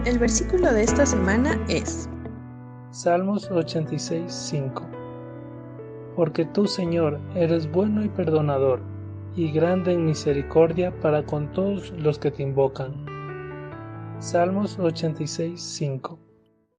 El versículo de esta semana es Salmos 86:5. Porque tú, Señor, eres bueno y perdonador, y grande en misericordia para con todos los que te invocan. Salmos 86:5.